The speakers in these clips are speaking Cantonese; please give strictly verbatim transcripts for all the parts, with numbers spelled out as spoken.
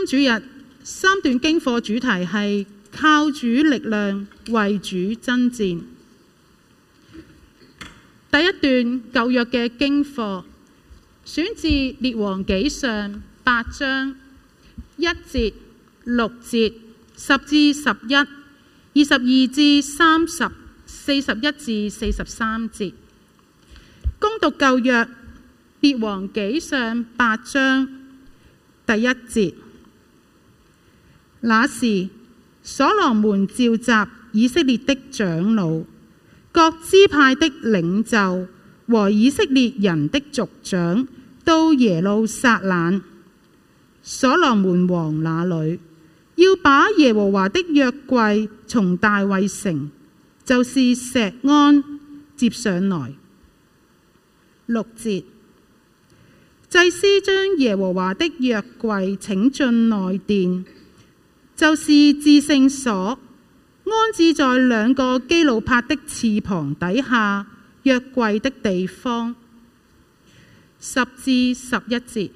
主日三段經課主題係靠主力量為主爭戰。第一段舊約嘅經課選自列王紀上八章一節、六節、十至十一、二十二至三十、四十一至四十三節。恭讀舊約列王紀上八章第一節。那時，所羅門召集以色列的長老、各支派的領袖和以色列人的族長到耶路撒冷。所羅門王那裏要把耶和華的約櫃從大衛城，就是錫安接上來。六節，祭司將耶和華的約櫃請進內殿，就是至聖所，安置在兩個基路伯的翅膀底下約櫃的地方。十至十一節，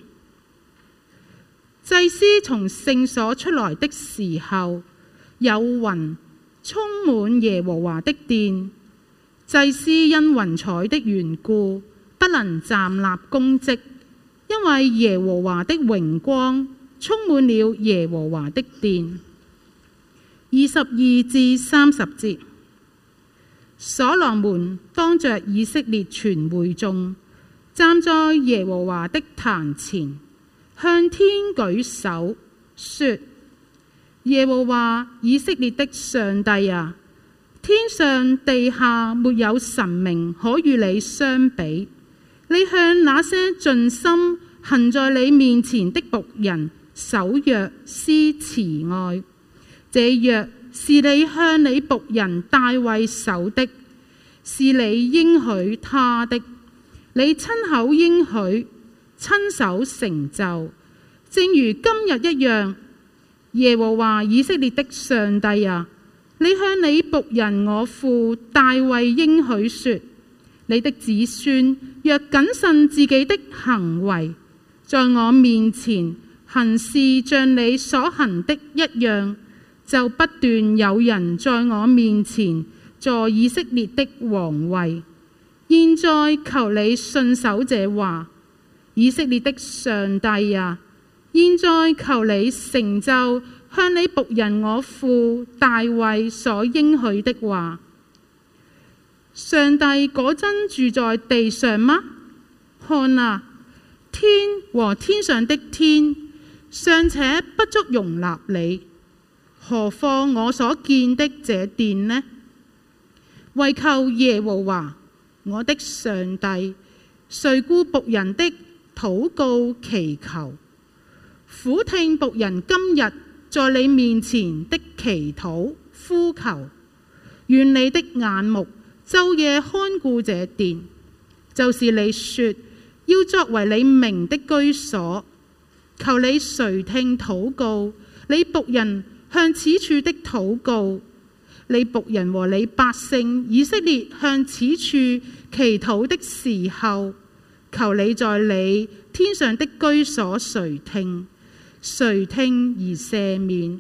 祭司從聖所出來的時候，有雲充滿耶和華的殿，祭司因雲彩的緣故不能站立供職，因為耶和華的榮光充滿了耶和華的殿。二十二至三十節，所羅門當着以色列全會眾，站在耶和華的壇前，向天舉手說：耶和華以色列的上帝啊，天上地下沒有神明可與你相比。你向那些盡心行在你面前的僕人守約施慈愛，這約是你向你僕人大衛守的，是你應許他的，你親口應許，親手成就，正如今日一樣。耶和華以色列的上帝啊，你向你僕人我父大衛應許說：你的子孫若謹慎自己的行為，在我面前行事像你所行的一樣，就不斷有人在我面前坐以色列的王位。現在求你信守這話，以色列的上帝啊，現在求你成就向你僕人我父大衛所應許的話。上帝果真住在地上嗎？看啊，天和天上的天尚且不足容納你，何況我所見的這殿呢？唯求耶和華我的上帝垂顧僕人的禱告祈求，俯聽僕人今日在你面前的祈禱呼求。願你的眼目晝夜看顧這殿，就是你說要作為你名的居所。求你垂聽禱告，你僕人向此處的禱告，你僕人和你百姓以色列向此處祈禱的時候，求你在你天上的居所垂聽，垂聽而赦免。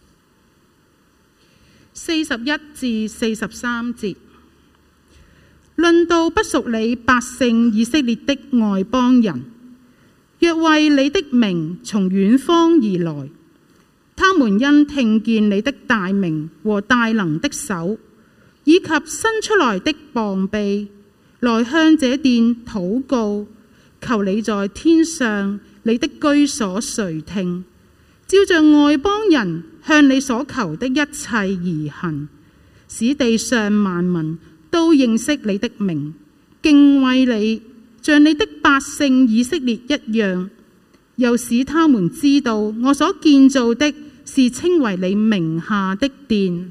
四十一至四十三節，論到不屬你百姓以色列的外邦人，若為你的名從遠方而來，他們因聽見你的大名和大能的手，以及伸出來的膀臂，來向這殿禱告，求你在天上你的居所垂聽，照着外邦人向你所求的一切而行，使地上萬民都認識你的名，敬畏你，像你的百姓以色列一樣，又使他們知道我所建造的是稱為你名下的殿。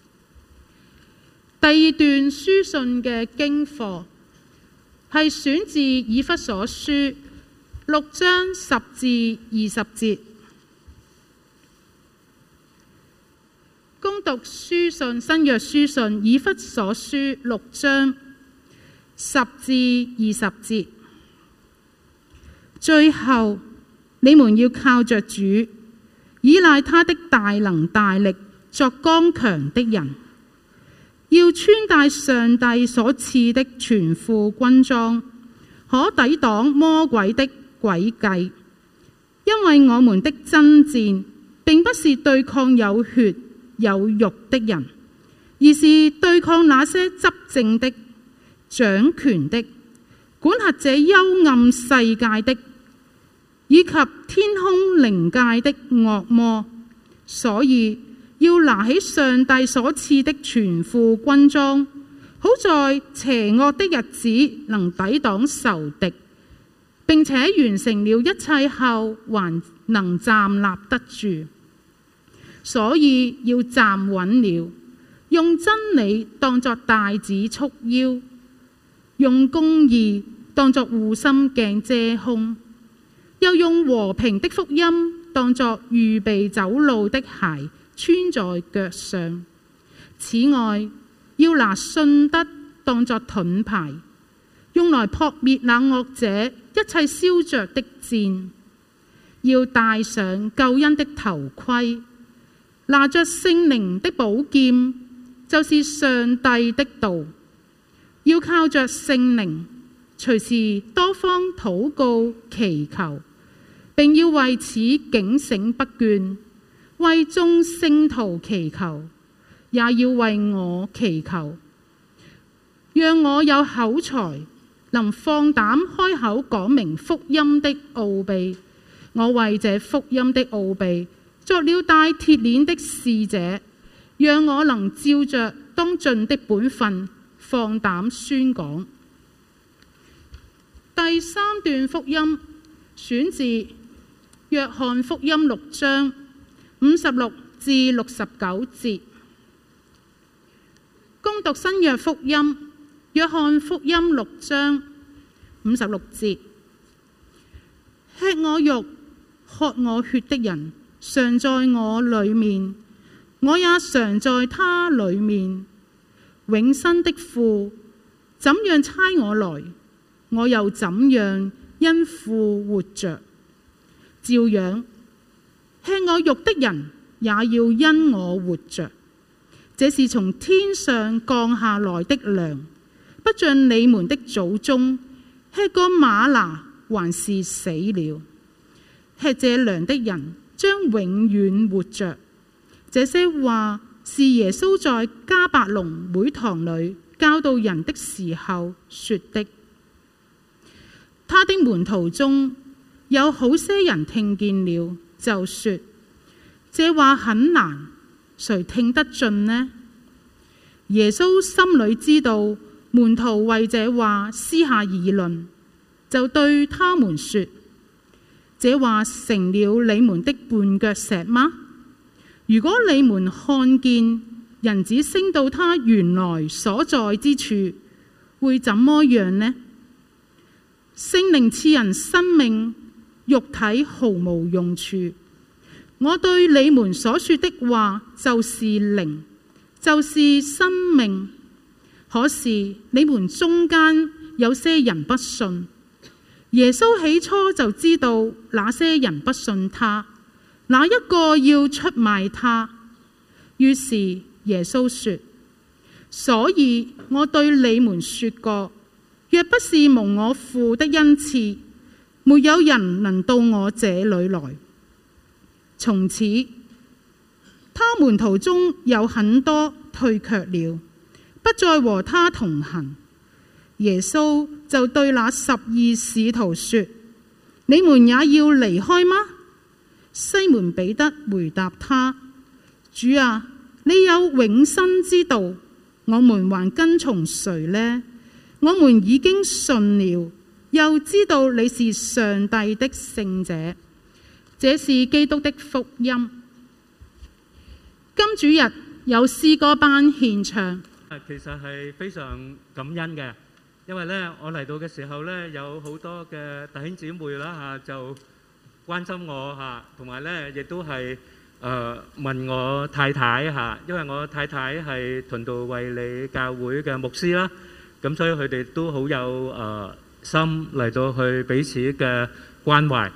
第二段書信嘅經課係選自以弗所書六章十至二十節。恭讀書信新約書信以弗所書六章十至二十節。最後，你們要靠着主， 倚賴他的大能大力作剛強的人，要穿戴上帝所賜的全副軍裝，可抵擋魔鬼的詭計。因為我們的爭戰並不是對抗有血有肉的人，而是對抗那些執政的、掌權的、管轄這幽暗世界的，以及天空靈界的惡魔。所以要拿起上帝所賜的全副軍裝，好在邪惡的日子能抵擋仇敵，並且完成了一切後還能站立得住。所以要站穩了，用真理當作帶子束腰，用公義當作護心鏡遮胸，又用和平的福音當作預備走路的鞋穿在腳上。此外，要拿信德當作盾牌，用來撲滅那惡者一切燒着的箭。要戴上救恩的頭盔，拿着聖靈的寶劍，就是上帝的道。要靠着聖靈，隨時多方禱告祈求，並要為此警醒不倦，為眾聖徒祈求，也要為我祈求，讓我有口才，能放膽開口講明福音的奧秘。我為這福音的奧秘作了帶鐵鏈的使者，讓我能照着當盡的本分放膽宣講。第三段福音選自約翰福音六章五十六至六十九節。恭讀新約福音，約翰福音六章五十六節：吃我肉、喝我血的人，常在我裏面，我也常在他裏面。永生的父怎樣差我來，我又怎樣因父活着。照樣，吃我肉的人也要因我活着。這是從天上降下來的糧，不像你們的祖宗吃過嗎哪，還是死了。吃這糧的人將永遠活着。這些話是耶穌在迦百農會堂裏教導人的時候說的。他的門徒中有好些人聽見了，就說：這話很難，誰聽得進呢？耶穌心裏知道門徒為這話私下議論，就對他們說：這話成了你們的絆腳石嗎？如果你們看見人子升到他原來所在之處，會怎麼樣呢？聖靈賜人生命，肉體毫無用處。我對你們所說的話就是靈，就是生命。可是你們中間有些人不信。耶穌起初就知道那些人不信他，哪一個要出賣他。於是耶穌說：所以我對你們說過，若不是蒙我父的恩賜，沒有人能到我這裏來。從此，他門徒中有很多退卻了，不再和他同行。耶穌就對那十二使徒說：你們也要離開嗎？西門彼得回答他：主啊，你有永生之道，我們還跟從誰呢？我們已經信了，又知道你是上帝的聖者。這是基督的福音。今主日有詩歌班獻唱， 其實係非常感恩嘅，因為咧我嚟到嘅時候咧，有好多嘅弟兄姊妹啦嚇就關心我嚇，同埋咧亦都係誒問我太太嚇，因為我太太係屯道衛理教會嘅牧師啦，咁所以佢哋都好有誒心嚟到去彼此嘅關懷。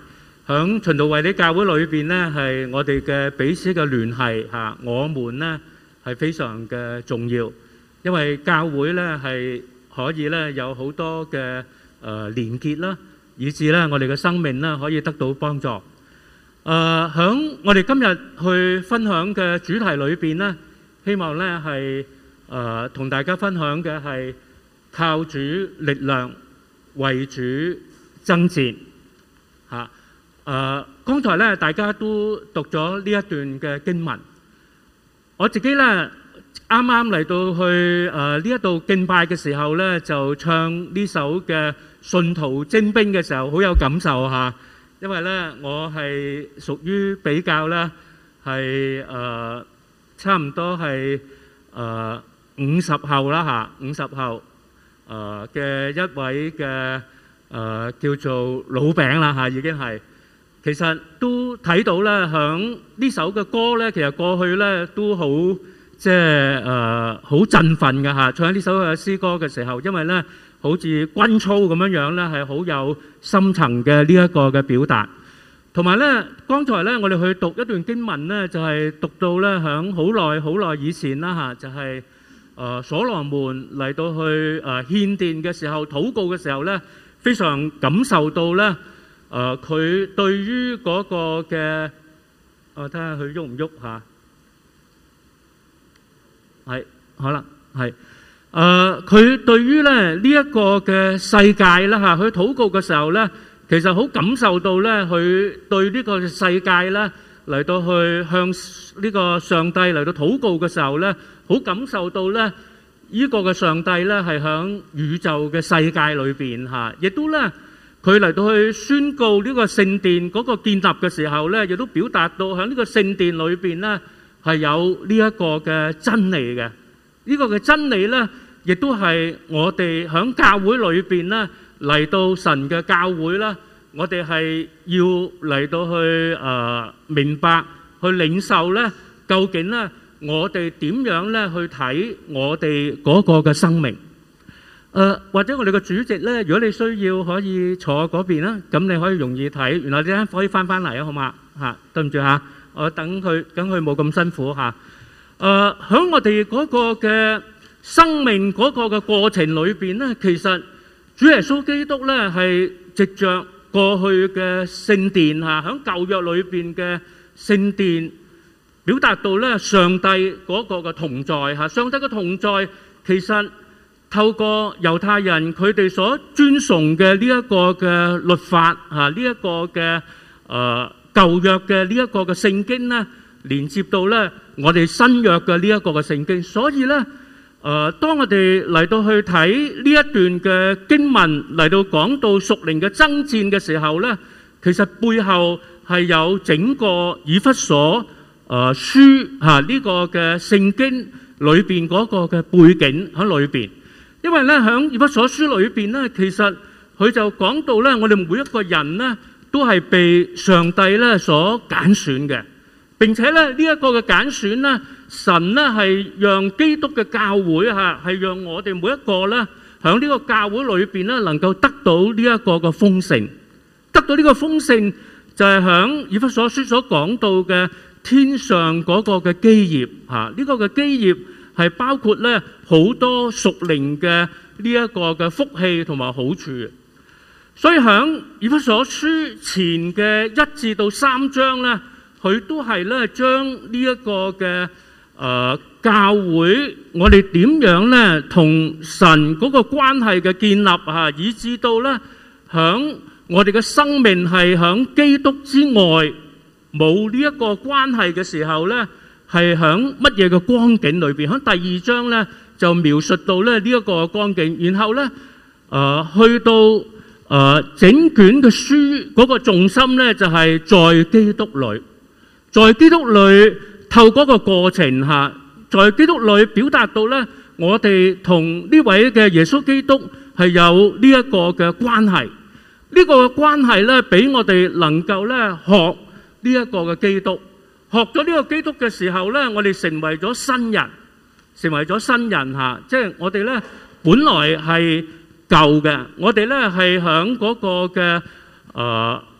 響循道衛理教會裏邊呢，係我哋嘅彼此嘅聯繫嚇，我們呢係非常嘅重要，因為教會呢係可以呢有好多嘅誒連結啦，以至呢我哋嘅生命呢可以得到幫助。誒，響我哋今日去分享嘅主題裏邊呢，希望呢係誒同大家分享嘅係靠主力量為主爭戰嚇。誒，剛才咧，大家都讀咗呢一段嘅經文。我自己咧，啱啱嚟到去誒呢一度敬拜嘅時候咧，就唱呢首嘅《信徒精兵》嘅時候，好有感受嚇。因為咧，我係屬於比較咧係誒差唔多係誒五十後啦嚇，五十後誒嘅一位嘅誒叫做老餅啦嚇，已經係。其實都睇到咧，響呢首嘅歌咧，其實過去咧都好即係誒好振奮嘅嚇。唱呢首嘅詩歌嘅時候，因為咧好似軍操咁樣樣咧，係好有深層嘅呢一個嘅表達。同埋咧，剛才咧我哋去讀一段經文咧，就係讀到咧響好耐好耐以前啦嚇，就係誒所羅門嚟到去誒獻殿嘅時候、禱告嘅時候咧，非常感受到咧。誒佢、呃、對於嗰個嘅，我睇下佢喐唔喐嚇，係好啦，係誒佢對於咧呢一、這個嘅世界啦嚇，佢禱告嘅時候咧，其實好感受到咧，佢對呢個世界咧嚟到去向呢個上帝嚟到禱告嘅時候咧，好感受到咧呢、這個嘅上帝咧係響宇宙嘅世界裏邊嚇，亦都咧。佢嚟到去宣告呢個聖殿嗰個建立嘅時候咧，亦都表達到喺呢個聖殿裏邊咧係有呢一個嘅真理嘅。呢個嘅真理咧，亦都係我哋喺教會裏邊咧嚟到神嘅教會啦，我哋係要嚟到去誒明白、去領受咧，究竟咧我哋點樣咧去睇我哋嗰個嘅生命。誒或者我哋嘅主席咧，如果你需要可以坐嗰邊啦，咁你可以容易睇，然後陣間可以翻翻嚟啊，好嘛嚇？對唔住嚇，我等佢，等佢冇咁辛苦嚇。誒喺我哋嗰個嘅生命嗰個嘅過程裏邊咧，其實主耶穌基督咧係藉著過去嘅聖殿嚇，喺舊約裏邊嘅聖殿表達到咧上帝嗰個嘅同在嚇，上帝嘅同在其實。透過猶太人佢哋所尊崇嘅呢一個嘅律法嚇，呢一個嘅誒舊約嘅呢一個嘅聖經咧，連接到咧我哋新約嘅呢一個嘅聖經，所以咧誒，當我哋嚟到去睇呢一段嘅經文嚟到講到屬靈嘅爭戰嘅時候咧，其實背後係有整個以弗所誒書嚇呢個嘅聖經裏邊嗰個嘅背景喺裏邊。因為咧，喺以弗所書裏邊咧，其實佢就講到咧，我哋每一個人咧都係被上帝咧所揀選嘅。並且咧呢一個嘅揀選咧，神咧係讓基督嘅教會嚇，係讓我哋每一個咧喺呢個教會裏邊咧能夠得到呢一個嘅豐盛，得到呢個豐盛就係喺以弗所書所講到嘅天上嗰個嘅基業嚇，呢個嘅基業。係包括咧好多屬靈嘅呢一個嘅福氣同埋好處，所以喺以弗所書前嘅一至到三章咧，佢都係咧將呢一個嘅誒教會，我哋點樣咧同神嗰個關係嘅建立嚇，以至到咧喺我哋嘅生命係喺基督之外冇呢一個關係嘅時候咧。係喺乜嘢嘅光景裏邊？喺第二章咧就描述到咧呢一個光景，然後咧誒去到誒整卷嘅書嗰個重心咧就係在基督裏，在基督裏透過個過程嚇，在基督裏表達到咧我哋同呢位嘅耶穌基督係有呢一個嘅關係，呢個關係咧俾我哋能夠咧學呢一個嘅基督。學咗呢個基督嘅時候咧，我哋成為咗新人，成為咗新人嚇。即係我哋咧，本來係舊嘅，我哋咧係響嗰個嘅誒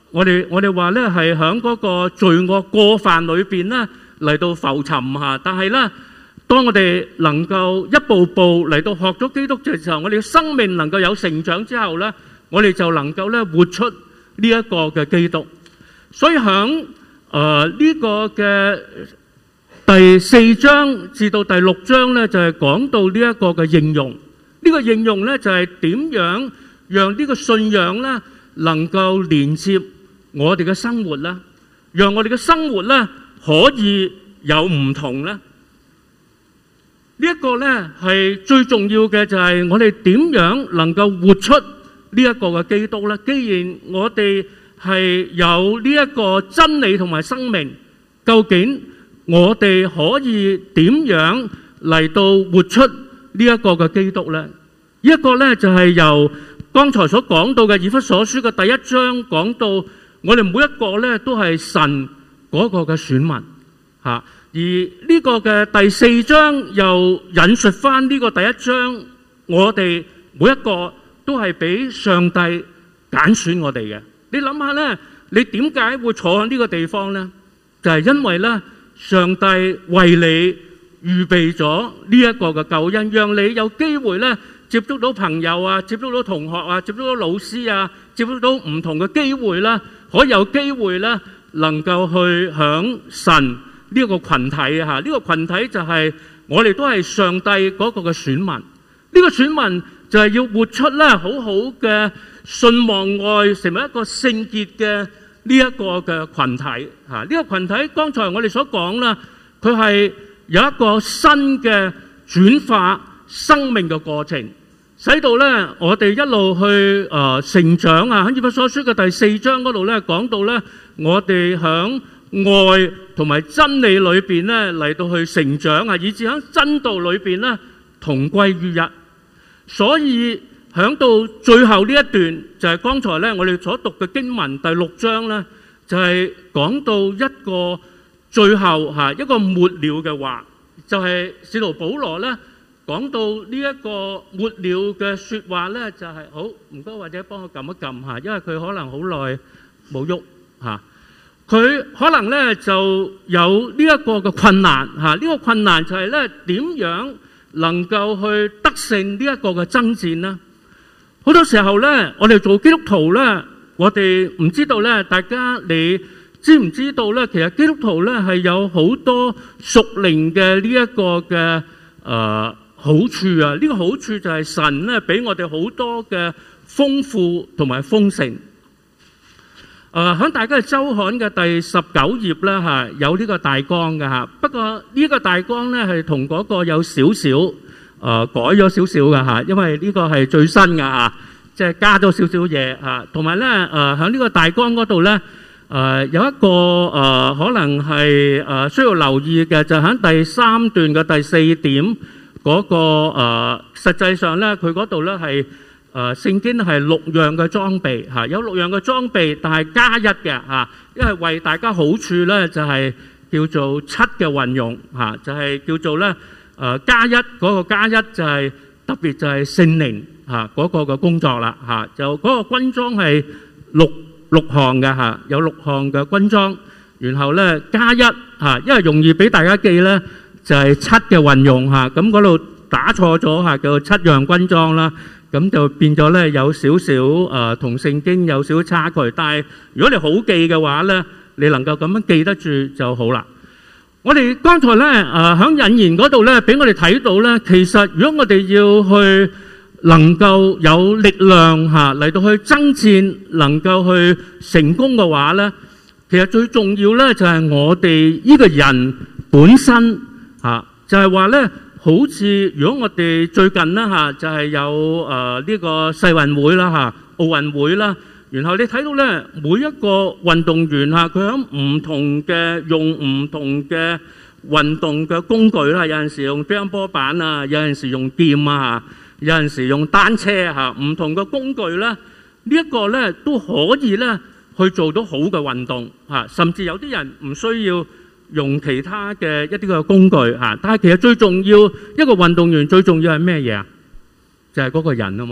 我哋我哋話咧係喺嗰個罪惡過犯裏邊咧嚟到浮沉嚇，但係咧當我哋能夠一步步嚟到學咗基督嘅時候，我哋嘅生命能夠有成長之後咧，我哋就能夠咧活出呢一個嘅基督。所以喺誒呢個嘅第四章至到第六章咧，就係講到呢一個嘅應用。呢個應用咧就係點樣讓呢個信仰咧能夠連接我哋嘅生活咧，讓我哋嘅生活咧可以有唔同咧。呢一個咧係最重要嘅，就係我哋點樣能夠活出呢一個嘅基督咧。既然我哋係有呢一個真理同埋生命，究竟我哋可以點樣嚟到活出呢一個嘅基督咧？呢一個咧就係由剛才所講到嘅以弗所書嘅第一章講到，我哋每一個咧都係神嗰個嘅選民嚇。而呢個嘅第四章又引述翻呢個第一章，我哋每一個都係俾上帝揀選我哋嘅。你諗下咧，你點解會坐喺呢個地方咧？就係因為咧，上帝為你預備咗呢一個嘅救恩，讓你有機會咧接觸到朋友啊，接觸到同學啊，接觸到老師啊，接觸到唔同嘅機會啦，可以有機會咧能夠去享神呢個群體啊！呢個群體就係我哋都係上帝嗰個嘅選民。呢個選民就係要活出咧好好嘅信望愛，成為一個聖潔嘅呢一個嘅群體嚇。呢個群體剛才我哋所講啦，佢係有一個新嘅轉化生命嘅過程，使到咧我哋一路去誒成長啊！喺以弗所書嘅第四章嗰度咧講到咧，我哋響愛同埋真理裏邊咧嚟到去成長啊，以至喺真道裏邊咧同歸於一。所以響到最後呢一段就係剛才咧我哋所讀嘅經文第六章咧，就係講到一個最後吓一個末了嘅話，就係使徒保羅咧講到呢一個末了嘅說話咧，就係好唔該，或者幫我撳一撳吓，因為佢可能好耐冇喐吓。佢可能咧就有呢一個嘅困難嚇，呢個困難就係咧點樣能夠去得勝呢一個嘅爭戰呢？好多時候咧，我哋做基督徒咧，我哋唔知道咧，大家你知唔知道咧？其實基督徒咧係有好多屬靈嘅呢一個嘅誒好處啊！呢個好處就係神咧俾我哋好多嘅豐富同埋豐盛。誒喺大家嘅週刊嘅第十九頁咧嚇，有呢個大綱嘅嚇。不過呢個大綱咧係同嗰個有少少誒改咗少少嘅嚇，因為呢個係最新嘅嚇，即係加咗少少嘢嚇。同埋咧誒喺呢個大綱嗰度咧誒有一個誒可能係誒需要留意嘅，就喺第三段嘅第四點嗰個誒，實際上咧佢嗰度咧係。誒聖經係六樣嘅裝備嚇，有六樣嘅裝備，但係加一嘅嚇，因為為大家好處咧就係叫做七嘅運用嚇，就係叫做咧誒加一嗰個加一就係特別就係聖靈嚇嗰個嘅工作啦嚇，就嗰個軍裝係六六項嘅嚇，有六項嘅軍裝，然後咧加一嚇，因為容易俾大家記咧就係七嘅運用嚇，咁嗰度打錯咗嚇，叫做七樣軍裝啦。咁就變咗咧，有少少誒同聖經有少少差距。但係如果你好記嘅話咧，你能夠咁樣記得住就好啦。我哋剛才咧誒喺引言嗰度咧，俾我哋睇到咧，其實如果我哋要去能夠有力量嚇嚟到去爭戰，能夠去成功嘅話咧，其實最重要咧就係我哋呢個人本身嚇，就係話咧。好似如果我哋最近啦嚇，就係有誒呢個世運會啦嚇，奧運會啦，然後你睇到咧每一個運動員嚇，佢喺唔同嘅用唔同嘅運動嘅工具啦，有陣時用乒乓波板啊，有陣時用劍啊，有陣時用單車嚇，唔同嘅工具咧，呢一個咧都可以咧去做到好嘅運動嚇，甚至有啲人唔需要用其他嘅一啲嘅工具嚇，但係其實最重要一個運動員最重要係咩嘢啊？就係嗰個人啊嘛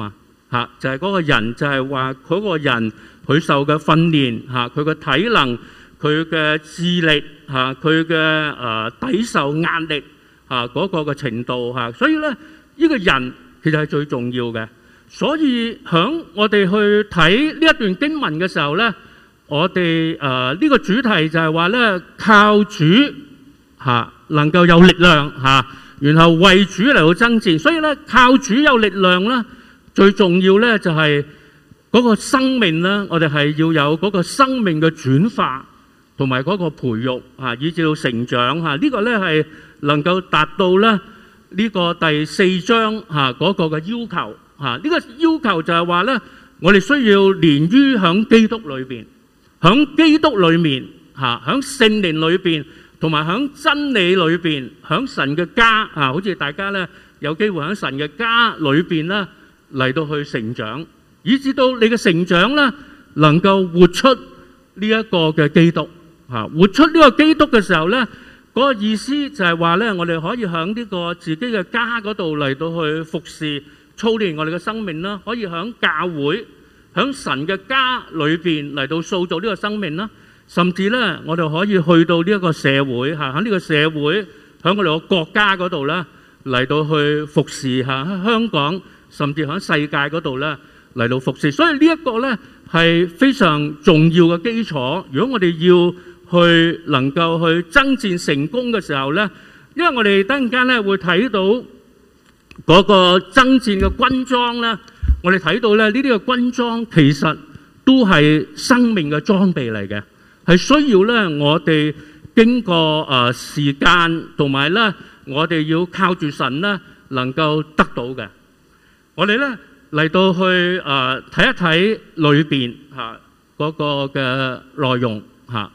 嚇，就係嗰個人，就係話嗰個人佢受嘅訓練嚇，佢嘅體能、佢嘅智力嚇、佢嘅誒抵受壓力嚇嗰個嘅程度嚇，所以咧呢個人其實係最重要嘅。所以響我哋去睇呢一段經文嘅時候咧，我哋誒呢個主題就係話咧，靠主嚇能夠有力量嚇，然後為主嚟到爭戰。所以咧靠主有力量咧，最重要咧就係嗰個生命咧，我哋係要有嗰個生命嘅轉化同埋嗰個培育嚇，以至到成長嚇。呢個咧係能夠達到咧呢個第四章嚇嗰個嘅要求嚇。呢個要求就係話咧，我哋需要連於響基督裏邊，響基督裏面嚇，響聖靈裏邊，同埋響真理裏邊，響神嘅家嚇，好似大家咧有機會響神嘅家裏邊咧嚟到去成長，以至到你嘅成長咧能夠活出呢一個嘅基督嚇，活出呢個基督嘅時候咧，嗰個意思就係話咧，我哋可以響呢個自己嘅家嗰度嚟到去服侍、操練我哋嘅生命啦，可以響教會、響神嘅家裏邊嚟到塑造呢個生命啦，甚至咧我哋可以去到呢一個社會嚇，喺呢個社會，響我哋個國家嗰度咧嚟到去服侍嚇，喺香港甚至喺世界嗰度咧嚟到服侍。所以呢一個咧係非常重要嘅基礎。如果我哋要去能夠去爭戰成功嘅時候咧，因為我哋等陣間咧會睇到嗰個爭戰嘅軍裝咧，我哋睇到咧呢啲嘅軍裝其實都係生命嘅裝備嚟嘅，係需要咧我哋經過誒時間同埋咧我哋要靠住神咧能夠得到嘅。我哋咧嚟到去誒睇一睇裏邊嚇嗰個嘅內容嚇。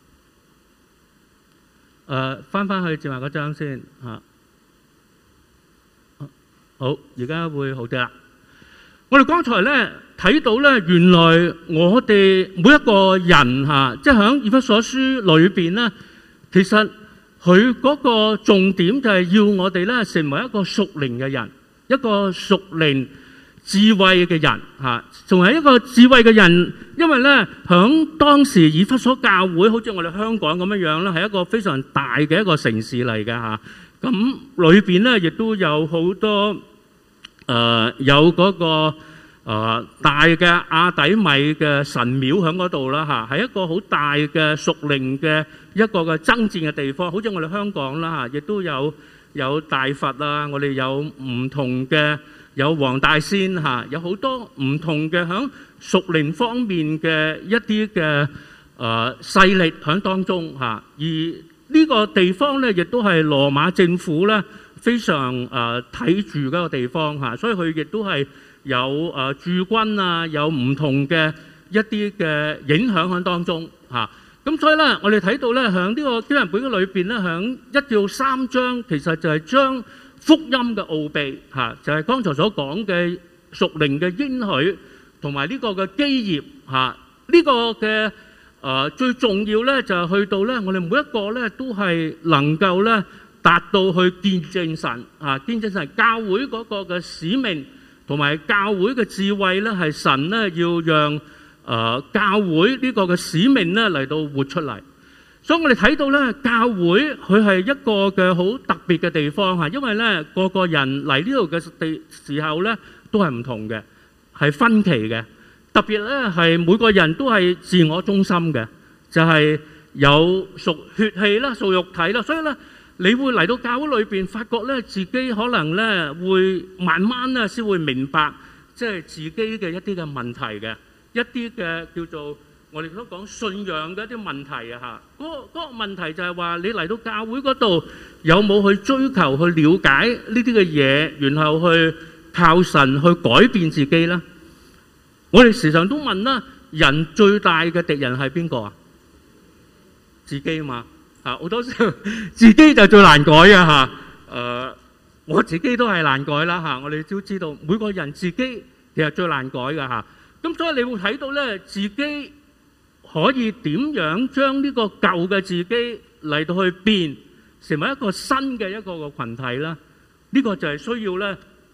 誒翻翻去正話嗰張先嚇。好，而家會好啲啦。我哋剛才咧睇到咧，原來我哋每一個人嚇，即係喺以弗所書裏邊咧，其實佢嗰個重點就係要我哋咧成為一個屬靈嘅人，一個屬靈智慧嘅人嚇，仲係一個智慧嘅人。因為咧喺當時以弗所教會，好似我哋香港咁樣樣咧，係一個非常大嘅一個城市嚟嘅嚇。咁裏邊咧亦都有好多誒、呃、有嗰、那個誒、呃、大嘅亞底米嘅神廟喺嗰度啦嚇，係一個好大嘅屬靈嘅一個嘅爭戰嘅地方。好似我哋香港啦嚇，亦都有有大佛啊，我哋有唔同嘅有黃大仙嚇，有好多唔同嘅喺屬靈方面嘅一啲嘅誒勢力喺當中嚇。而呢個地方咧，亦都係羅馬政府咧非常誒睇住嗰個地方嚇，所以佢亦都係有誒駐軍啊，有唔同嘅一啲嘅影響喺當中嚇。咁所以咧，我哋睇到咧，喺呢個經文本嘅裏邊咧，喺一至三章，其實就係將福音嘅奧秘嚇，就係剛才所講嘅屬靈嘅應許同埋呢個嘅基業嚇，呢個嘅。誒、呃、最重要咧就係去到咧，我哋每一個咧都係能夠咧達到去見證神啊，見證神教會嗰個嘅使命同埋教會嘅智慧咧，係神咧要讓誒、呃、教會呢個嘅使命咧嚟到活出嚟。所以我哋睇到咧，教會佢係一個嘅好特別嘅地方嚇，因為咧個個人嚟呢度嘅地時候咧都係唔同嘅，係分歧嘅。特別咧係每個人都係自我中心嘅，就係有屬血氣啦、屬肉體啦，所以咧你會嚟到教會裏邊，發覺咧自己可能咧會慢慢咧先會明白，即係自己嘅一啲嘅問題嘅，一啲嘅叫做我哋所講信仰嘅一啲問題啊嚇。嗰個嗰個問題就係話你嚟到教會嗰度有冇去追求去了解呢啲嘅嘢，然後去靠神去改變自己咧？我哋時常都問啦，人最大嘅敵人係邊個啊？自己嘛嚇，好多時候自己就最難改嘅嚇。誒，我自己都係難改啦嚇。我哋都知道每個人自己其實最難改嘅嚇。咁所以你會睇到咧，自己可以點樣將呢個舊嘅自己嚟到去變成為一個新嘅一個個羣體啦。呢個就係需要咧。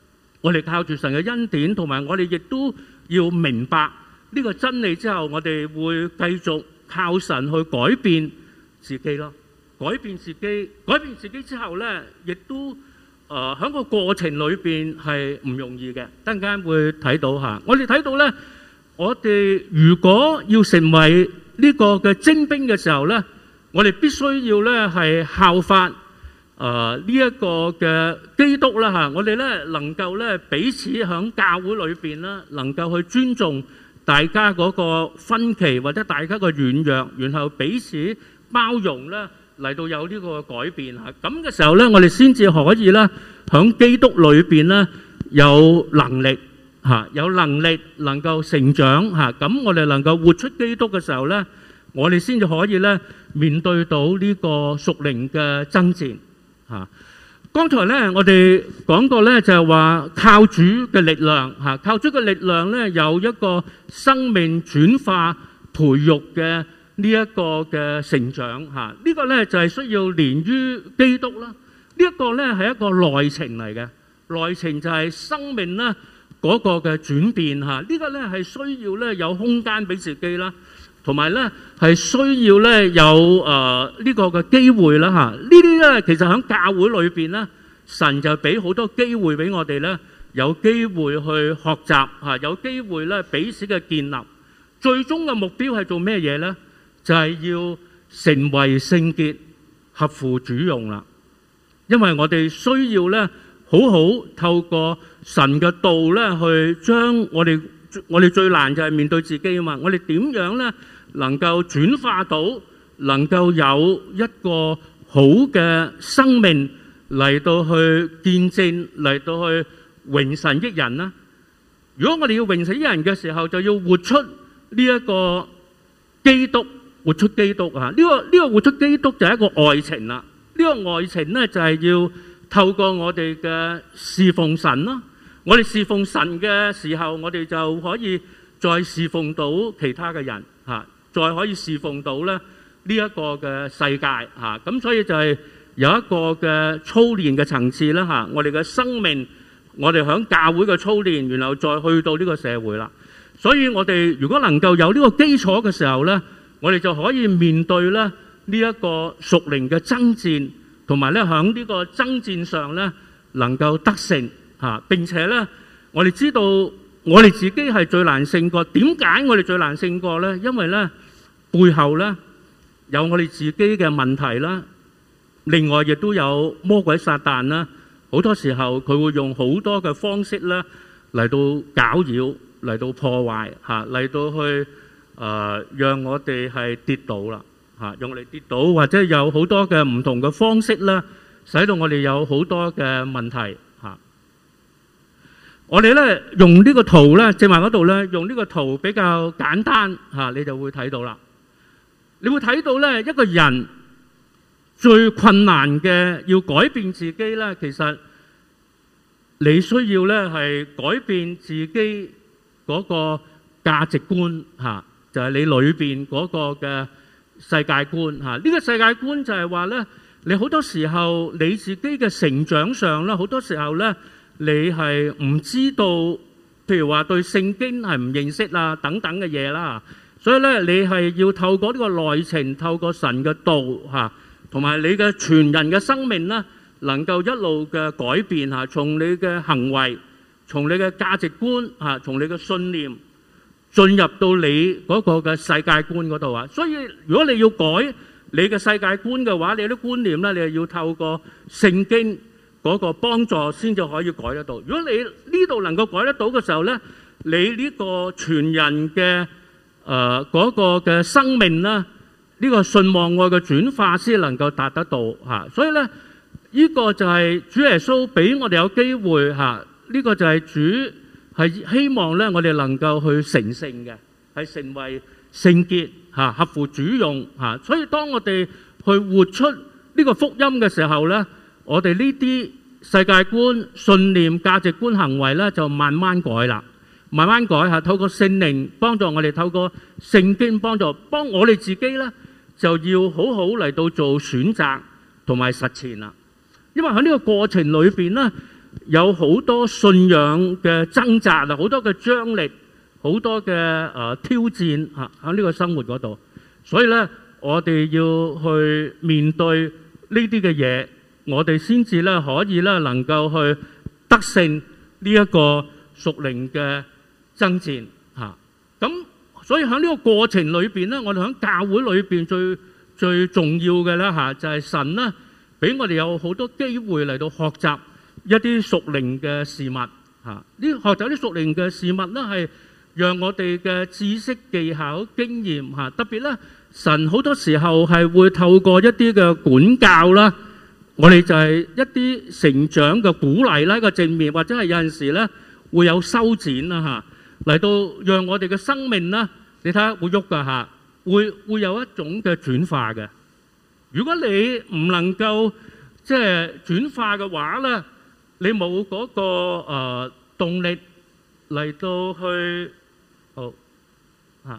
我哋靠住神嘅恩典，同埋我哋亦都要明白呢個真理之後，我哋會繼續靠神去改變自己咯。改變自己，改變自己之後呢，亦都誒喺個過程裏邊係唔容易嘅。等陣間會睇到嚇，我哋睇到呢，我哋如果要成為呢個嘅精兵嘅時候呢，我哋必須要呢係效法。誒呢一個嘅基督啦嚇，我哋咧能夠咧彼此喺教會裏邊咧，能夠去尊重大家嗰個分歧或者大家嘅軟弱，然後彼此包容咧嚟到有呢個改變嚇。咁嘅時候咧，我哋先至可以咧喺基督裏邊咧有能力嚇，有能力能夠成長嚇。咁我哋能夠活出基督嘅時候咧，我哋先至可以咧面對到呢個屬靈嘅爭戰。嚇！剛才咧，我哋講過咧，就係話靠主嘅力量嚇，靠主嘅力量咧，有一個生命轉化培育嘅呢一個嘅成長嚇。呢個咧就係需要連於基督啦。呢一個咧係一個內情嚟嘅，內情就係生命咧嗰個嘅轉變嚇。呢個咧係需要咧有空間俾自己啦。同埋咧，係需要咧有誒呢個嘅機會啦嚇。呢啲咧其實喺教會裏邊咧，神就俾好多機會俾我哋咧，有機會去學習嚇，有機會咧彼此嘅建立。最終嘅目標係做咩嘢咧？就係要成為聖潔，合乎主用啦。因為我哋需要咧，好好透過神嘅道咧，去將我哋我哋最難就係面對自己啊嘛。我哋點樣咧？能夠轉化到，能夠有一個好嘅生命嚟到去見證，嚟到去榮神益人啦。如果我哋要榮神益人嘅時候，就要活出呢一個基督，活出基督啊！呢個呢個活出基督就係一個愛情啦。呢個愛情咧就係要透過我哋嘅侍奉神啦。我哋侍奉神嘅時候，我哋就可以再侍奉到其他嘅人嚇。再可以侍奉到咧呢一個嘅世界嚇，咁所以就係有一個嘅操練嘅層次啦嚇。我哋嘅生命，我哋響教會嘅操練，然後再去到呢個社會啦。所以我哋如果能夠有呢個基礎嘅時候咧，我哋就可以面對咧呢一個屬靈嘅爭戰，同埋咧響呢個爭戰上咧能夠得勝嚇。並且咧，我哋知道我哋自己係最難勝過。點解我哋最難勝過咧？因為咧，背後咧有我哋自己嘅問題啦，另外亦都有魔鬼撒旦啦。好多時候佢會用好多嘅方式咧嚟到攪擾，嚟到破壞嚇，嚟到去誒讓我哋係跌倒啦嚇，用嚟跌倒，或者有好多嘅唔同嘅方式咧，使到我哋有好多嘅問題嚇。我哋咧用呢個圖咧，正話嗰度咧用呢個圖比較簡單嚇，你就會睇到啦。你會睇到咧，一個人最困難嘅要改變自己咧，其實你需要咧係改變自己嗰個價值觀嚇，就係你裏邊嗰個嘅世界觀嚇。呢個世界觀就係話咧，你好多時候你自己嘅成長上咧，好多時候咧你係唔知道，譬如話對聖經係唔認識啊等等嘅嘢啦。所以咧，你係要透過呢個內情，透過神嘅道嚇，同埋你嘅全人嘅生命咧，能夠一路嘅改變嚇，從你嘅行為，從你嘅價值觀嚇，從你嘅信念進入到你嗰個嘅世界觀嗰度啊。所以如果你要改你嘅世界觀嘅話，你啲觀念咧，你係要透過聖經嗰個幫助先至可以改得到。如果你呢度能夠改得到嘅時候咧，你呢個全人嘅誒嗰、呃那個嘅生命啦，呢、這個信望愛嘅轉化先能夠達得到嚇、啊，所以咧呢、這個就係主耶穌俾我哋有機會嚇，呢、啊這個就係主係希望咧我哋能夠去成聖嘅，係成為聖潔嚇、啊，合乎主用嚇、啊。所以當我哋去活出呢個福音嘅時候咧，我哋呢啲世界觀、信念、價值觀、行為咧就慢慢改啦。慢慢改下，透過聖靈幫助我哋，透過聖經幫助幫我哋自己咧，就要好好嚟到做選擇同埋實踐啦。因為喺呢個過程裏邊咧， 有好多信仰嘅掙扎啊，好多嘅張力，好多嘅誒挑戰嚇喺呢個生活嗰度。所以咧，我哋要去面對呢啲嘅嘢，我哋先至咧可以咧能夠去得勝呢一個屬靈嘅爭戰嚇。咁所以喺呢個過程裏邊咧，我哋喺教會裏邊最最重要嘅咧嚇，就係神咧俾我哋有好多機會嚟到學習一啲屬靈嘅事物嚇。呢學習啲屬靈嘅事物咧，係讓我哋嘅知識、技巧、經驗嚇，特別咧神好多時候係會透過一啲嘅管教啦，我哋就係一啲成長嘅鼓勵啦，一個正面，或者係有陣時咧會有修剪啦嚇。嚟到讓我哋嘅生命咧，你睇下會喐噶嚇，會會有一種嘅轉化嘅。如果你唔能夠即係轉化嘅話咧，你冇嗰個誒動力嚟到去好嚇。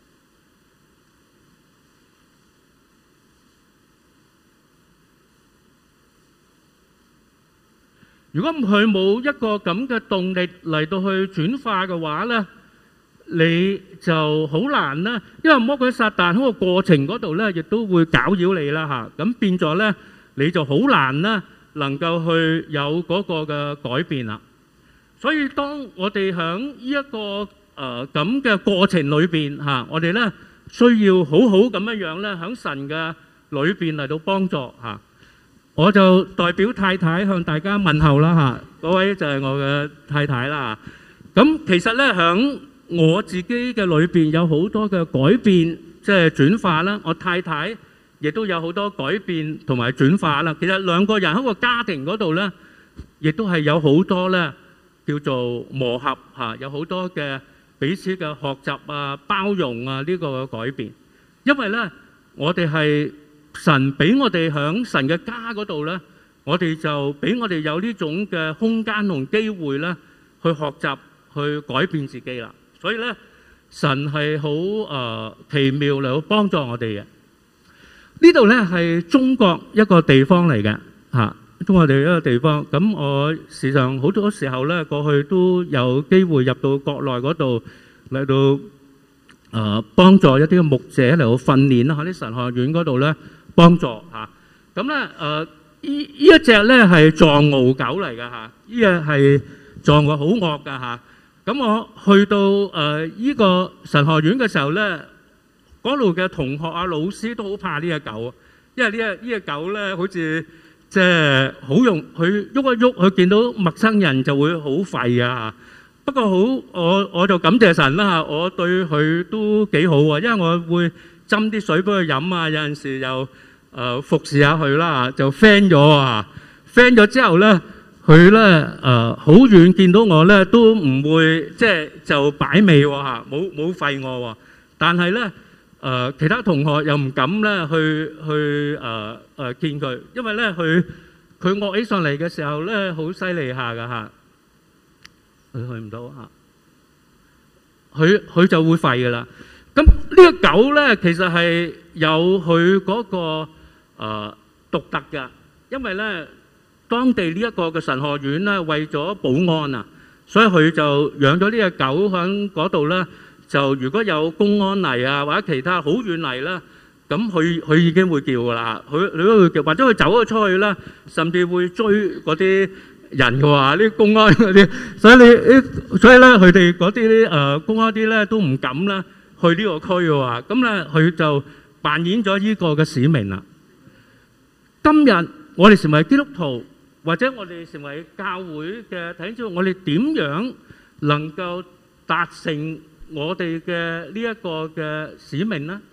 如果佢冇一個咁嘅動力嚟到去轉化嘅話咧，你就好難啦。因為魔鬼撒旦喺個過程嗰度咧，亦都會攪擾你啦嚇。咁變咗咧，你就好難啦，能夠去有嗰個嘅改變啦。所以當我哋喺呢一個誒咁嘅過程裏邊嚇，我哋咧需要好好咁樣樣咧，喺神嘅裏邊嚟到幫助嚇。我就代表太太向大家問候啦嚇，嗰位就係我嘅太太啦。咁其實咧，喺我自己嘅裏邊有好多嘅改變，即係轉化啦。我太太亦都有好多改變同埋轉化啦。其實兩個人喺個家庭嗰度咧，亦都係有好多咧叫做磨合嚇，有好多嘅彼此嘅學習啊、包容啊呢個嘅改變。因為咧，我哋係神俾我哋喺神嘅家嗰度咧，我哋就俾我哋有呢種嘅空間同機會咧，去學習去改變自己啦。所以咧，神係好誒奇妙嚟到幫助我哋嘅。呢度咧係中國一個地方嚟嘅嚇，中國地一個地方。咁我時常好多時候咧，過去都有機會入到國內嗰度嚟到誒幫助一啲嘅牧者嚟到訓練啦，喺啲神學院嗰度咧。幫助嚇，咁咧誒，依依一隻咧係藏獒狗嚟㗎嚇，依隻係藏獒好惡㗎嚇。咁我去到誒依個神學院嘅時候咧，嗰度嘅同學啊、老師都好怕呢隻狗，因為呢隻呢隻狗咧好似即係好用，佢喐一喐，佢見到陌生人就會好吠啊。不過好，我我就感謝神啦嚇，我對佢都幾好啊，因為我會斟啲水俾佢飲啊，有陣時又誒服侍下佢啦，就 friend 咗啊 friend 咗之後咧，佢咧誒好遠見到我咧都唔會即係就擺尾喎嚇，冇冇吠我喎。但係咧誒其他同學又唔敢咧去去誒誒見佢，因為咧佢佢惡起上嚟嘅時候咧好犀利下㗎嚇，佢去唔到嚇，佢佢就會吠㗎啦。咁呢個狗咧，其實係有佢嗰個誒獨特嘅，因為咧當地呢一個嘅神學院咧，為咗保安啊，所以佢就養咗呢隻狗喺嗰度咧。就如果有公安嚟啊，或者其他好遠嚟啦，咁佢佢已經會叫噶啦，佢佢都會叫，或者佢走咗出去啦，甚至會追嗰啲人嘅話，啲公安嗰啲，所以你所以咧，佢哋嗰啲誒公安啲咧都唔敢啦。去呢個區嘅喎，咁咧佢就扮演咗呢個嘅使命啦。今日我哋成為基督徒，或者我哋成為教會嘅弟兄姊妹，我哋點樣能夠達成我哋嘅呢一個嘅使命呢？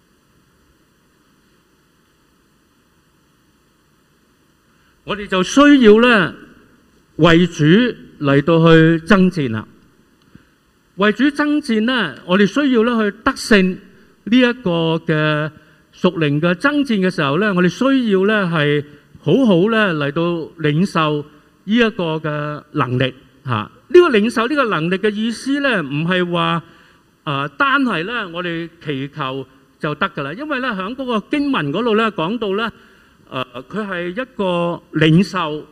我哋就需要咧為主嚟到去爭戰啦。為主爭戰呢，我哋需要咧去得勝呢一個嘅屬靈嘅爭戰嘅時候咧，我哋需要咧係好好咧嚟到領受呢一個嘅能力嚇。呢個領受呢個能力嘅意思咧，唔係話誒單係咧我哋祈求就得㗎啦，因為咧喺嗰個經文嗰度咧講到咧誒，佢係一個領受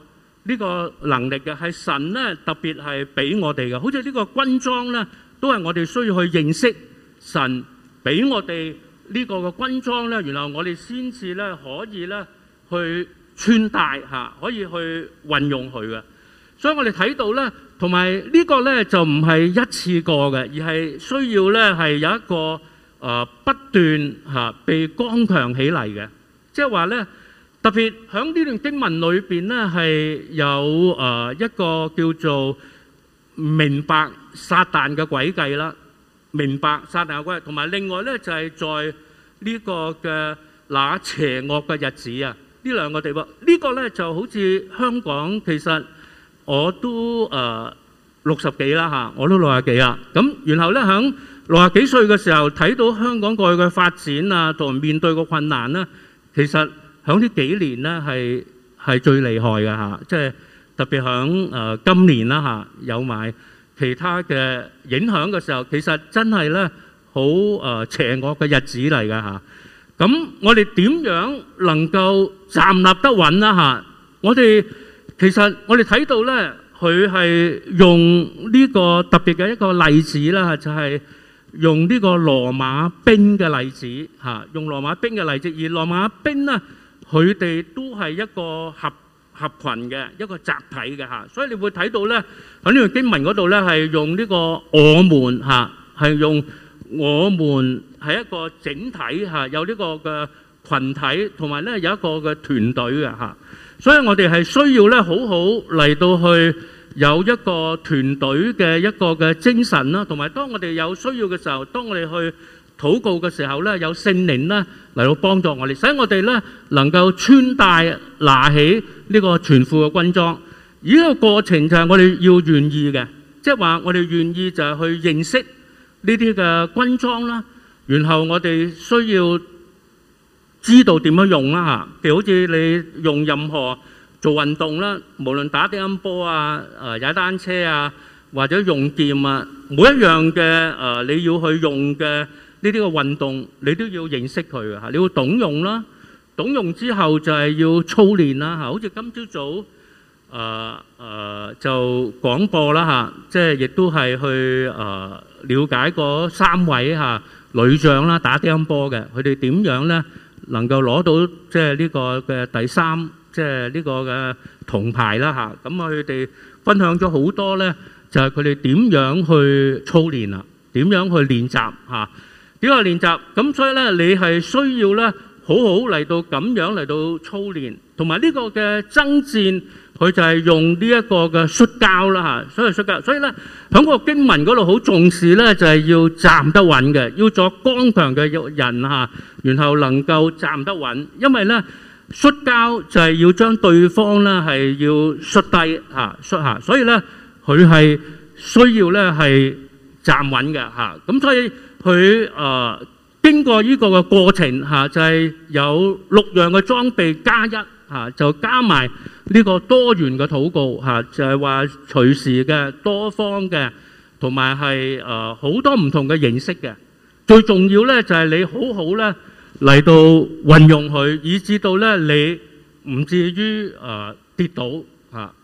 呢個能力嘅，係神咧特別係俾我哋嘅。好似呢個軍裝咧，都係我哋需要去認識神俾我哋呢個嘅軍裝咧，然後我哋先至咧可以咧去穿戴嚇，可以去運用佢嘅。所以我哋睇到咧，同埋呢個咧就唔係一次過嘅，而係需要咧係有一個誒不斷嚇被剛強起嚟嘅，即係話咧。特別喺呢段經文裏邊咧，係有誒一個叫做明白撒旦嘅詭計啦，明白撒旦嘅詭計，同埋另外咧就係在呢個嘅那邪惡嘅日子啊，呢兩個地方，呢個咧就好似香港，其實我都誒六十幾啦嚇，我都六十幾啦。咁然後咧喺六十幾歲嘅時候睇到香港過去嘅發展啊，同面對個困難咧，其實響呢幾年咧係係最厲害嘅嚇，即係特別響誒今年啦嚇，有埋其他嘅影響嘅時候，其實真係咧好誒邪惡嘅日子嚟嘅嚇。咁我哋點樣能夠站立得穩啦嚇？我哋其實我哋睇到咧，佢係用呢個特別嘅一個例子啦，就係用呢個羅馬兵嘅例子嚇，用羅馬兵嘅例子，而羅馬兵咧。佢哋都係一個合合羣嘅一個集體嘅嚇，所以你會睇到咧喺呢段經文嗰度咧係用呢個我們嚇，係用我們係一個整體嚇，有呢個嘅羣體，同埋咧有一個嘅團隊嘅嚇，所以我哋係需要咧好好嚟到去有一個團隊嘅一個嘅精神啦，同埋當我哋有需要嘅時候，當我哋去禱告嘅時候咧，有聖靈咧嚟到幫助我哋，使我哋咧能夠穿戴拿起呢個全副嘅軍裝。而呢個過程就係我哋要願意嘅，即係話我哋願意就係去認識呢啲嘅軍裝啦，然後我哋需要知道點樣用啦嚇。譬如好似你用任何做運動啦，無論打乒乓波啊、誒踩單車啊，或者用劍啊，每一樣嘅誒你要去用嘅。呢啲個運動你都要認識佢嘅嚇，你要懂用啦，懂用之後就係要操練啦嚇。好似今朝早誒誒就廣播啦嚇，即係亦都係去誒了解嗰三位嚇女將啦，打乒乓波嘅，佢哋點樣咧能夠攞到即係呢個嘅第三即係呢個嘅銅牌啦嚇。咁佢哋分享咗好多咧，就係佢哋點樣去操練啊，點樣去練習嚇。點樣練習？咁所以咧，你係需要咧，好好嚟到咁樣嚟到操練，同埋呢個嘅爭戰，佢就係用呢一個嘅摔跤啦嚇，所以摔跤。所以咧，喺個經文嗰度好重視咧，就係要站得穩嘅，要做剛強嘅人嚇，然後能夠站得穩。因為咧，摔跤就係要將對方咧係要摔低嚇，摔下。所以咧，佢係需要咧係站穩嘅嚇。咁所以。佢誒經過呢個嘅過程嚇，就係有六樣嘅裝備加一嚇，就加埋呢個多元嘅禱告嚇，就係話隨時嘅多方嘅，同埋係誒好多唔同嘅形式嘅。最重要咧就係你好好咧嚟到運用佢，以至到咧你唔至於誒跌倒嚇。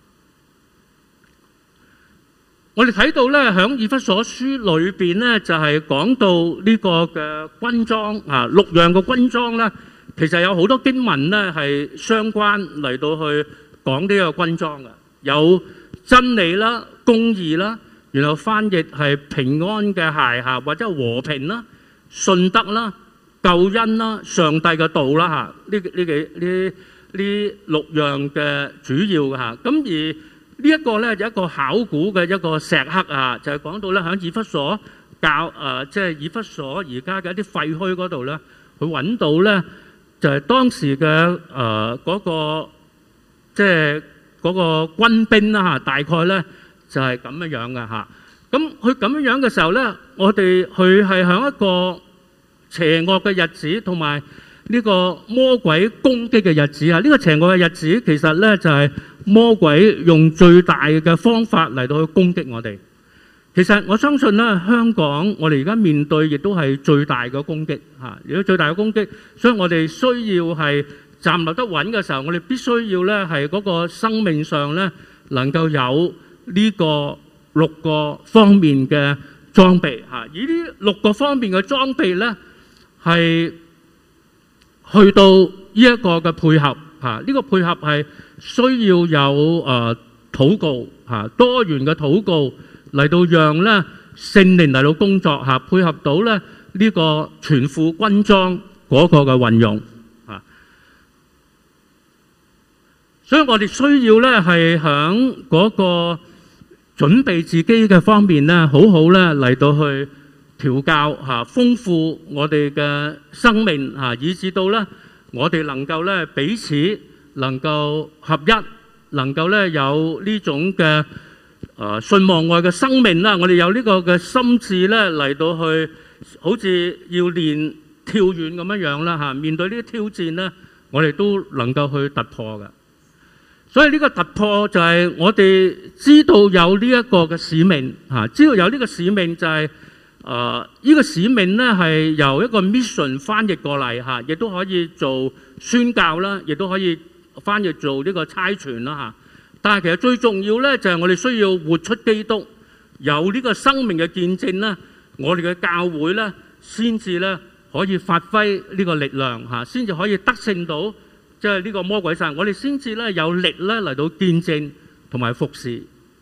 我哋睇到咧，喺以弗所書裏邊咧，就係講到呢個嘅軍裝啊，六樣嘅軍裝咧，其實有好多經文咧係相關嚟到去講呢個軍裝嘅，有真理啦、公義啦，然後翻譯係平安嘅鞋嚇，或者和平啦、信德啦、救恩啦、上帝嘅道啦嚇，呢呢幾呢呢六樣嘅主要嘅嚇，咁而呢一個咧就一個考古嘅一個石刻啊，就係講到咧喺以弗所教誒，即係以弗所而家嘅一啲廢墟嗰度咧，佢揾到咧就係當時嘅誒嗰個即係嗰個軍兵啦嚇，大概咧就係咁樣樣嘅嚇。咁佢咁樣樣嘅時候咧，我哋佢係喺一個邪惡嘅日子，同埋呢個魔鬼攻擊嘅日子啊！呢個邪惡嘅日子其實咧就係魔鬼用最大嘅方法嚟到去攻擊我哋。其實我相信咧，香港我哋而家面對亦都係最大嘅攻擊嚇，亦都最大嘅攻擊，所以我哋需要係站立得穩嘅時候，我哋必須要咧係嗰個生命上咧能夠有呢個六個方面嘅裝備嚇。而呢六個方面嘅裝備咧係去到呢一個嘅配合嚇，呢個配合係需要有誒禱告嚇，多元嘅禱告嚟到讓咧聖靈嚟到工作嚇，配合到咧呢個全副軍裝嗰個嘅運用嚇。所以我哋需要咧係響嗰個準備自己嘅方面咧，好好咧嚟到去調教嚇，豐富我哋嘅生命嚇，以至到咧我哋能夠咧彼此能夠合一，能夠咧有呢種嘅誒信望愛嘅生命啦。我哋有呢個嘅心志咧嚟到去，好似要練跳遠咁樣樣啦嚇。面對呢啲挑戰咧，我哋都能夠去突破嘅。所以呢個突破就係我哋知道有呢一個嘅使命嚇，知道有呢個使命就係誒呢個使命咧係由一個 mission 翻譯過嚟嚇，亦都可以做宣教啦，亦都可以翻譯做呢個差傳啦嚇。但係其實最重要咧就係我哋需要活出基督，有呢個生命嘅見證啦，我哋嘅教會咧先至咧可以發揮呢個力量嚇，先至可以得勝到。即係呢個魔鬼撒旦，我哋先至咧有力咧嚟到見證同埋服侍。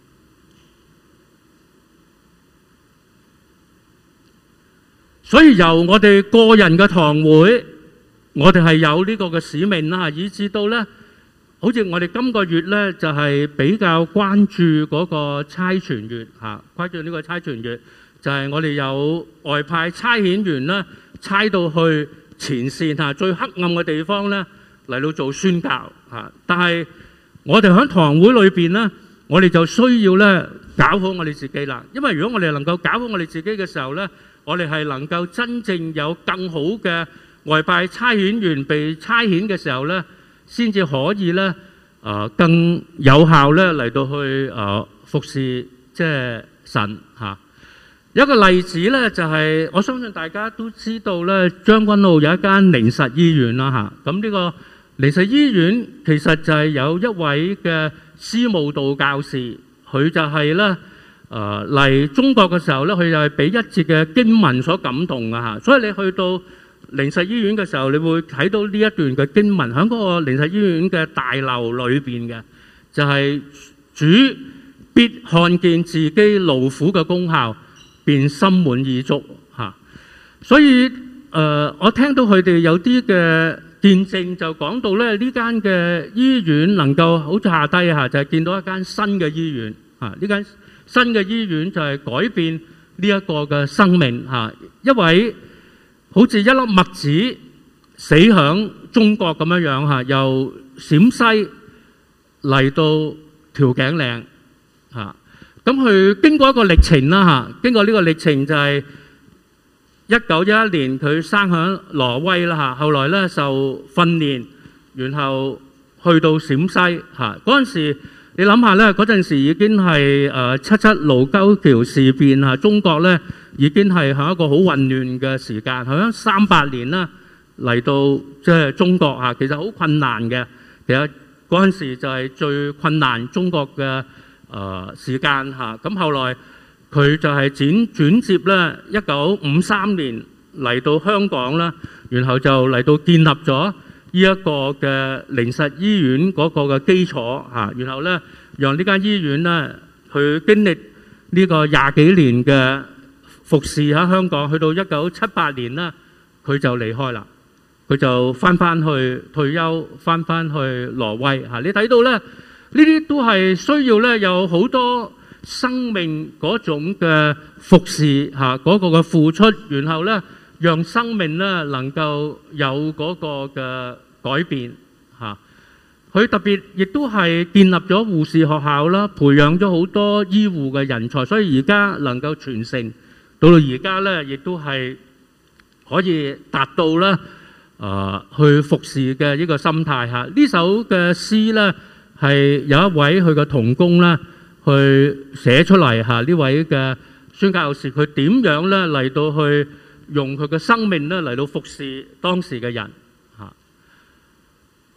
所以由我哋個人嘅堂會，我哋係有呢個嘅使命啦，以至到咧，好似我哋今個月咧就係比較關注嗰個差傳月嚇，關注呢個差傳月，就係我哋有外派差遣員啦，差到去前線嚇，最黑暗嘅地方咧。嚟到做宣教嚇，但係我哋喺堂會裏邊咧，我哋就需要咧搞好我哋自己啦。因為如果我哋能夠搞好我哋自己嘅時候咧，我哋係能夠真正有更好嘅外派差遣員被差遣嘅時候咧，先至可以咧誒更有效咧嚟到去誒服侍即係神嚇。有一個例子咧，就係我相信大家都知道咧，將軍澳有一間靈實醫院啦嚇。咁呢個靈實醫院其實就係有一位嘅司務道教士，佢就係咧誒嚟中國嘅時候咧，佢就係俾一節嘅經文所感動嘅嚇。所以你去到靈實醫院嘅時候，你會睇到呢一段嘅經文喺嗰個靈實醫院嘅大樓裏邊嘅，就係主必看見自己勞苦嘅功效，便心滿意足嚇。所以誒，我聽到佢哋有啲嘅見證就講到咧，呢間嘅醫院能夠好似下低嚇，就係見到一間新嘅醫院嚇。呢間新嘅醫院就係改變呢一個嘅生命嚇。一位好似一粒麥子死響中國咁樣樣嚇，由陝西嚟到調景嶺嚇。咁佢經過一個歷程啦嚇，經過呢個歷程就係一九一一年佢生響挪威啦嚇，後來咧受訓練，然後去到陝西嚇。嗰陣時你諗下咧，嗰陣時已經係誒七七盧溝橋事變嚇，中國咧已經係喺一個好混亂嘅時間，響三八年啦嚟到即係中國嚇，其實好困難嘅。其實嗰陣時就係最困難中國嘅誒時間嚇。咁後來佢就係轉轉接咧，一九五三年嚟到香港啦，然後就嚟到建立咗呢一個嘅靈實醫院嗰個嘅基礎嚇，然後咧讓呢間醫院咧去經歷呢個廿幾年嘅服侍喺香港，去到一九七八年啦，佢就離開啦，佢就翻翻去退休，翻翻去挪威嚇。你睇到咧，呢啲都係需要咧有好多生命嗰種嘅服侍嚇，嗰個嘅付出，然後咧讓生命咧能夠有嗰個嘅改變嚇。佢特別亦都係建立咗護士學校啦，培養咗好多醫護嘅人才，所以而家能夠傳承到到而家咧，亦都係可以達到咧誒去服侍嘅呢個心態嚇。呢首嘅詩咧係有一位佢嘅同工咧去寫出嚟嚇，呢位嘅宣教士佢點樣咧嚟到去用佢嘅生命咧嚟到服侍當時嘅人嚇。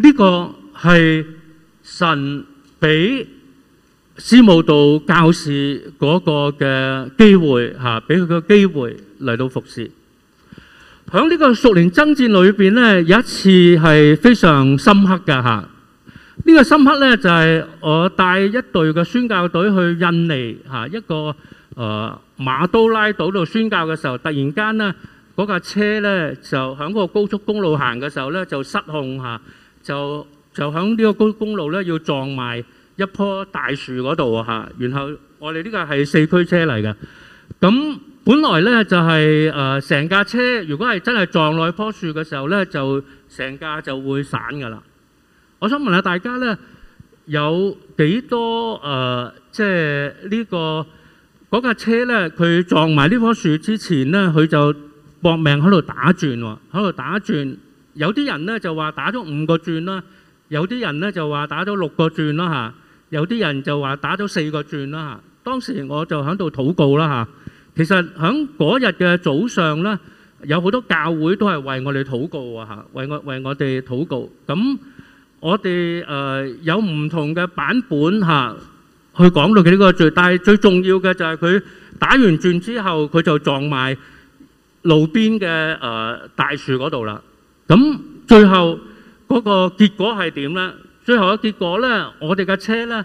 呢個係神俾司務道教士嗰個嘅機會嚇，俾佢個機會嚟到服侍。喺呢個屬靈爭戰裏邊咧，有一次係非常深刻嘅嚇。呢個深刻咧就係我帶一隊嘅宣教隊去印尼嚇一個誒馬都拉島度宣教嘅時候，突然間咧嗰架車咧就喺嗰個高速公路行嘅時候咧就失控嚇，就就喺呢個高速公路咧要撞埋一棵大樹嗰度嚇。然後我哋呢個係四驅車嚟嘅，咁本來咧就係誒成架車如果係真係撞落去棵樹嘅時候咧，就成架就會散㗎啦。我想問下大家咧，有幾多誒，即係呢個嗰架車咧，佢撞埋呢棵樹之前咧，佢就搏命喺度打轉喎，喺度打轉。有啲人咧就話打咗五個轉啦，有啲人咧就話打咗六個轉啦嚇，有啲人就話打咗四個轉啦嚇。當時我就喺度禱告啦嚇。其實喺嗰日嘅早上咧，有好多教會都係為我哋禱告啊嚇，為我為我哋禱告咁。我哋誒有唔同嘅版本嚇，去講到佢呢個罪，但係最重要嘅就係佢打完轉之後，佢就撞埋路邊嘅誒大樹嗰度啦。咁最後嗰個結果係點咧？最後嘅結果咧，我哋嘅車咧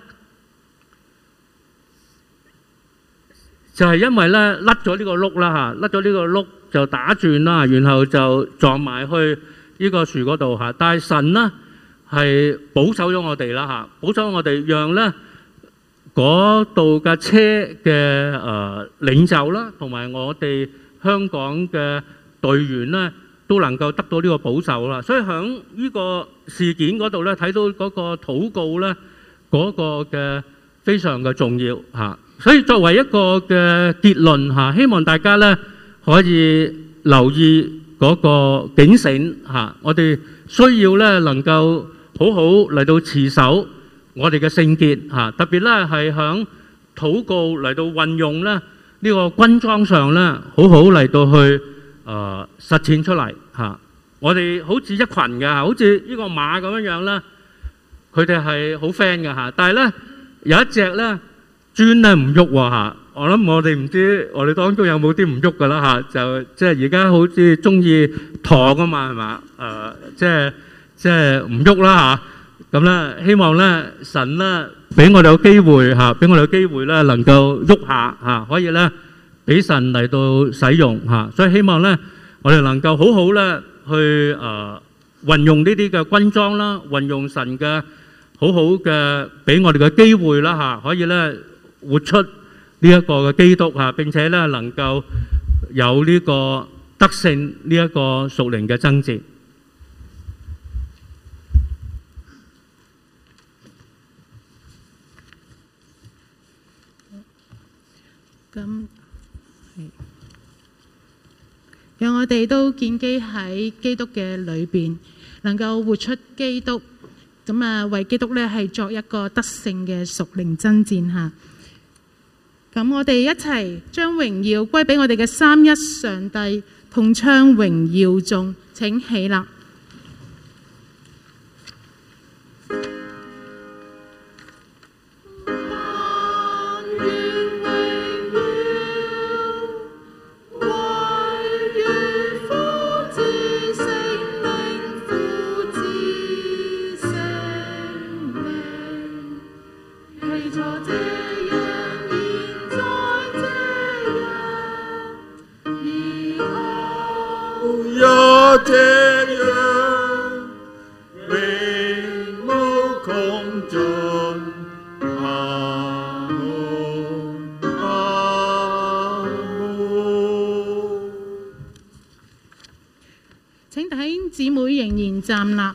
就係因為咧甩咗呢個轆啦嚇，甩咗呢個轆就打轉啦，然後就撞埋去呢個樹嗰度嚇。但係神咧係保守咗我哋啦嚇，保守我哋讓咧嗰度嘅車嘅誒領袖啦，同埋我哋香港嘅隊員咧，都能夠得到呢個保守啦。所以喺呢個事件嗰度咧，睇到嗰個禱告咧，嗰個嘅非常嘅重要嚇。所以作為一個嘅結論嚇，希望大家咧可以留意嗰個警醒嚇，我哋需要咧能夠好好嚟到持守我哋嘅聖潔嚇，特別咧係響禱告嚟到運用咧呢個軍裝上咧，好好嚟到去誒實踐出嚟嚇。我哋好似一群嘅，好似呢個馬咁樣樣咧，佢哋係好 friend 嘅嚇。但係咧有一隻咧專咧唔喐喎嚇。我諗我哋唔知我哋當中有冇啲唔喐噶啦嚇，就即係而家好似中意躺啊嘛係嘛誒，即係。即係唔喐啦嚇，咁咧希望咧神咧俾我哋有機會嚇，俾我哋有機會咧能夠喐下嚇，可以咧俾神嚟到使用嚇，所以希望咧我哋能夠好好咧去誒運用呢啲嘅軍裝啦，運用神嘅好好嘅俾我哋嘅機會啦嚇，可以咧活出呢一個嘅基督嚇，並且咧能夠有呢個得勝呢一個屬靈嘅爭戰。 咁係，讓我哋都建基喺基督嘅裏邊，能夠活出基督，咁啊為基督咧係作一個得勝嘅屬靈爭戰嚇。咁我哋一齊將榮耀歸俾我哋嘅三一上帝，同唱榮耀頌，請起立。請弟兄姊妹仍然站立。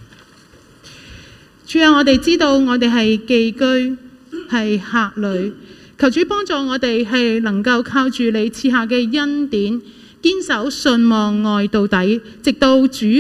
主啊，我哋知道我哋係寄居，係客旅，求主幫助我哋係能夠靠住你賜下嘅恩典，堅守信望愛到底，直到主